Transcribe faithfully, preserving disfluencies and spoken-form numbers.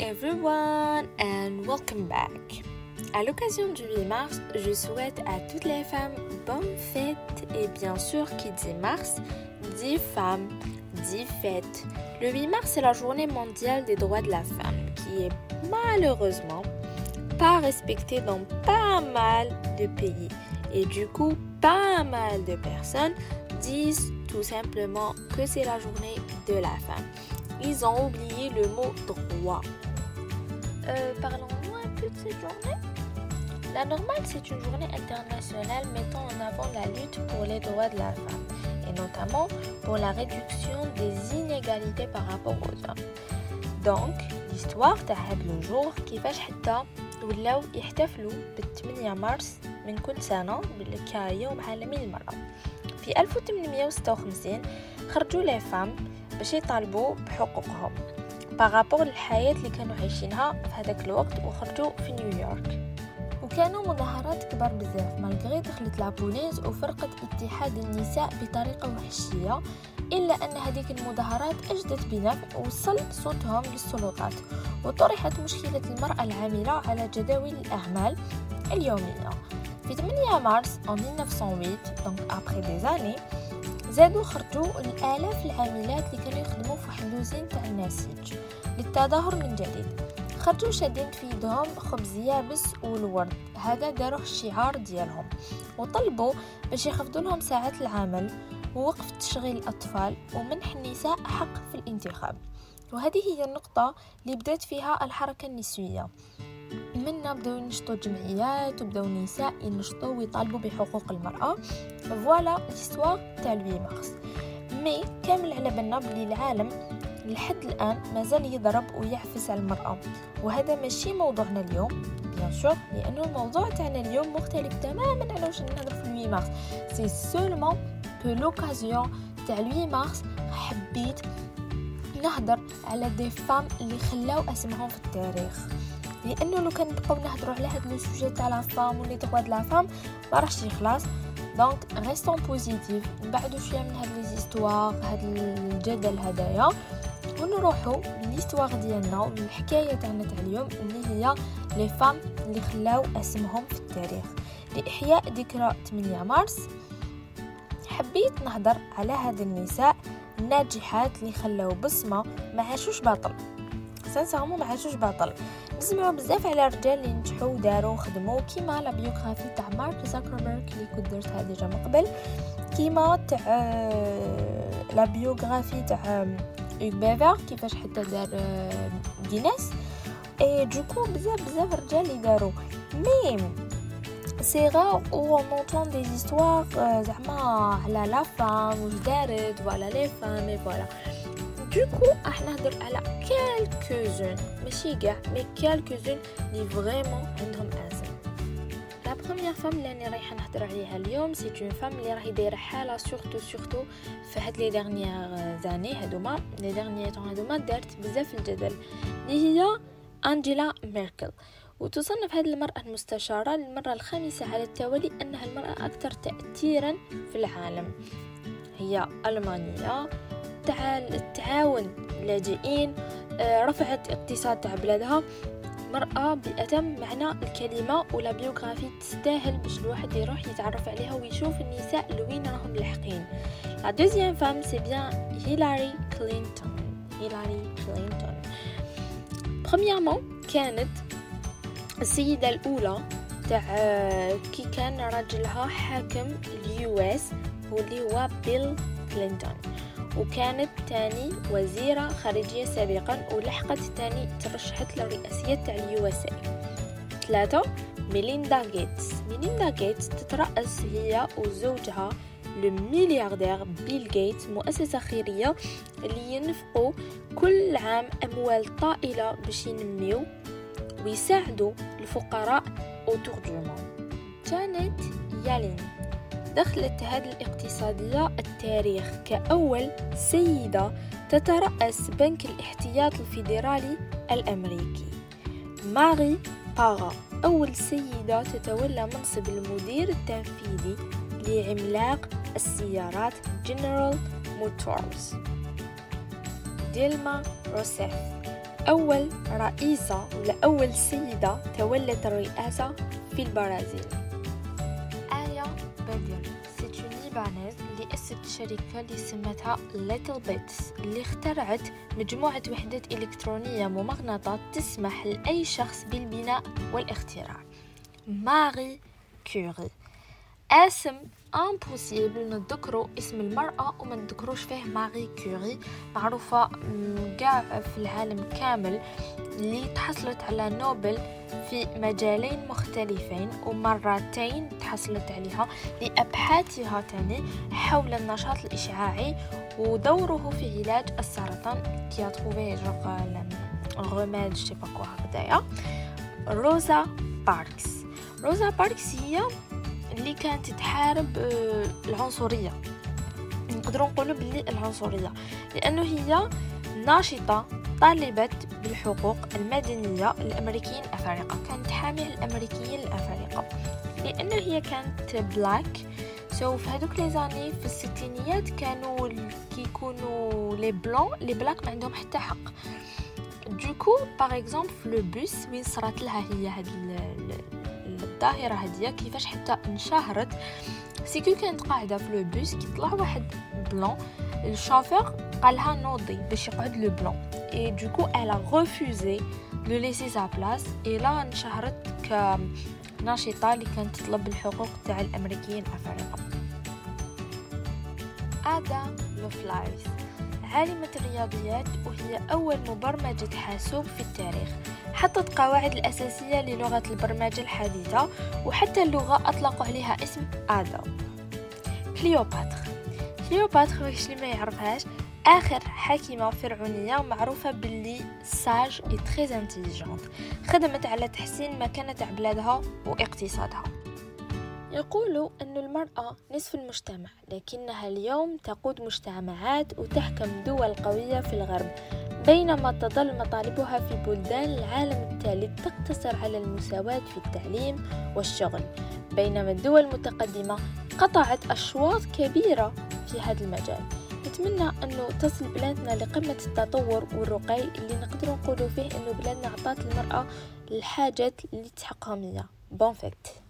everyone and welcome back. À l'occasion du huit mars, je souhaite à toutes les femmes bonne fête et bien sûr qui dit mars, dit femme, dit fête. Le huit mars c'est la journée mondiale des droits de la femme qui est malheureusement pas respectée dans pas mal de pays et du coup pas mal de personnes disent tout simplement que c'est la journée de la femme. Ils ont oublié le mot droit. Euh, parlons-nous un peu de cette journée. La normale, c'est une journée internationale mettant en avant la lutte pour les droits de la femme et notamment pour la réduction des inégalités par rapport aux hommes. Donc, l'histoire تاع هذا le jour كيفاش حتى ولاو يحتفلوا بالثمانية مارس من كل سنة كيوم عالمي للمرأة. في ألف وثمانمائة وستة وخمسين خرجوا لي فام باش يطالبوا بحقوقهم بارابور للحياة اللي كانوا عايشينها في هذاك الوقت وخرجوا في نيويورك وكانوا مظاهرات كبار بزاف مالغري دخلت لابوليس وفرقت اتحاد النساء بطريقة وحشية إلا أن هذيك المظاهرات أجدت بنفع ووصل صوتهم للسلطات وطرحت مشكلة المرأة العاملة على جداول الأعمال اليومية. في ثمانية مارس en mille neuf cent huit donc après des années زادوا خرجوا الآلاف العاملات اللي كانوا يخدموا في واحد لوزين تاع النسيج للتظاهر من جديد. خرجوا شادين في يدهم خبز يابس والورد، هذا داروه الشعار ديالهم، وطلبوا باش يخفضوا لهم ساعات العمل ووقف تشغيل الأطفال ومنح النساء حق في الانتخاب. وهذه هي النقطة اللي بدأت فيها الحركة النسوية. منا بدأوا ينشطوا جمعيات وبدأوا النساء ينشطوا ويطالبوا بحقوق المرأة. فوالا ليستوار تاع الوي مارس. مي كامل على بالنا بلي العالم لحد الآن مازال يضرب ويعفس على المرأة، وهذا ماشي موضوعنا اليوم بيان سور لأنه الموضوع تاعنا اليوم مختلف تماما على واش نهضر في الوي مارس. سي سولمون بو لوكازيون تاع الوي مارس حبيت نهضر على دي فام اللي خلاو اسمهم في التاريخ، لانه لو كان نبقاو نهضروا على هذا لو سوجي تاع لا فام ولي دغوا د لا فام ما راحش يخلص. دونك ريستون بوزيتيف نبعدوا شويه من هاد لي زيستوار هاد الجدل هدايا ونروحوا لليستوار ديالنا والحكايه تاعنا تاع اليوم اللي هي لي فام اللي خلاو اسمهم في التاريخ. لاحياء ذكرى ثمانية مارس حبيت نهضر على هاد النساء الناجحات اللي خلاو بصمه ما عاشوش باطل، سانسيرمون ما عاشوش باطل. نسمعوا بزاف على الرجال اللي نجحوا وداروا وخدموا كيما لا بيوغرافي تاع مارك زاكربيرغ اللي كنت درتها ديجا من قبل، كيما تاع لا بيوغرافي تاع اوغ بيفر كيفاش حتى دار جينيس اي دوكو بزاف بزاف الرجال اللي داروا. مي سي غار او اون اونتون دي زيستوار زعما على لا فام واش دارت ولا لي فام اي فوالا. دوكو راح نهضر على كالكوزون ماشي كاع مي كالكوزون اللي فريمون عندهم اسم. لا بروميير فام اللي انا رايحه نهضر عليها اليوم سي اون فام اللي راهي دايره حاله سورتو سورتو في هاد لي ديرنيير زاني هادوما لي ديرنيير طون هادوما دارت بزاف الجدل اللي هي أنجيلا ميركل، وتصنف هذه المرأة المستشارة للمرة الخامسة على التوالي أنها المرأة أكثر تأثيرا في العالم. هي ألمانية تاع التعاون اللاجئين، رفعت اقتصاد تاع بلادها، مرأة بأتم معنى الكلمة ولا بيوغرافي تستاهل باش الواحد يروح يتعرف عليها ويشوف النساء لوين راهم لاحقين. لا دوزيام فام سي بيان هيلاري كلينتون. هيلاري كلينتون برومييرمون كانت السيدة الأولى تاع كي كان راجلها حاكم اليو اس واللي هو بيل كلينتون، وكانت تاني وزيرة خارجية سابقا ولحقت تاني ترشحت للرئاسية تاع اليو اس اي. ثلاثة ميليندا غيتس. ميليندا غيتس تترأس هي وزوجها الملياردير بيل غيتس مؤسسة خيرية اللي ينفقوا كل عام أموال طائلة باش ينميو ويساعدوا الفقراء autour du monde. جانيت يالين دخلت هذه الاقتصادية التاريخ كأول سيدة تترأس بنك الاحتياط الفيدرالي الأمريكي. ماري بارا أول سيدة تتولى منصب المدير التنفيذي لعملاق السيارات جنرال موتورز. ديلما روسيف أول رئيسة ولا أول سيدة تولت الرئاسة في البرازيل. آيا باديل سيت اون ليبانيز اللي أسست شركة اللي سمتها ليتل بيتس، اللي اخترعت مجموعة وحدات إلكترونية ممغنطة تسمح لأي شخص بالبناء والاختراع. ماري كوري. اسم امبوسيبل نذكروا اسم المرأة وما نذكروش فيه ماري كوري، معروفة كاع في العالم كامل، اللي تحصلت على نوبل في مجالين مختلفين ومرتين تحصلت عليها لأبحاثها تاني حول النشاط الإشعاعي ودوره في علاج السرطان كي تروفي جوغ الغماد جي با كوا هكذايا. روزا باركس. روزا باركس هي اللي كانت تحارب العنصرية، نقدروا نقولوا باللي العنصرية، لأنه هي ناشطة طالبة بالحقوق المدنية الأمريكيين الأفارقة، كانت حامية الأمريكيين الأفارقة لأنه هي كانت بلاك. سو في هذوك لي زاني في الستينيات كانوا كيكونوا لي بلون لي بلاك ما عندهم حتى حق. دوكو باغ اكزومبل في لو بوس وين صرات لها هي هذه الظاهرة هذه كيفاش حتى انشهرت، سيكو كانت قاعدة في لو بوس كي طلع واحد بلون، الشوفير قالها نوضي باش يقعد لو بلون اي دوكو الا ريفوزي لو ليسي سا بلاص، اي لا انشهرت كناشطة اللي كانت تطلب الحقوق تاع الامريكيين الافارقه. آدا لوفلايز عالمة الرياضيات وهي أول مبرمجة حاسوب في التاريخ، حطت قواعد الأساسية للغة البرمجة الحديثة وحتى اللغة أطلقوا عليها اسم آدا. كليوباتر. كليوباتر واش اللي ما يعرفهاش، آخر حاكمة فرعونية معروفة باللي ساج اي تريز انتيليجنت، خدمت على تحسين مكانة بلادها واقتصادها. يقولوا أن المرأة نصف المجتمع، لكنها اليوم تقود مجتمعات وتحكم دول قوية في الغرب، بينما تظل مطالبها في بلدان العالم الثالث تقتصر على المساواة في التعليم والشغل، بينما الدول المتقدمة قطعت أشواط كبيرة في هذا المجال. نتمنى أنه تصل بلادنا لقمة التطور والرقي اللي نقدر نقولوا فيه أنه بلادنا عطات المرأة الحاجات اللي تحقها. بون فيت.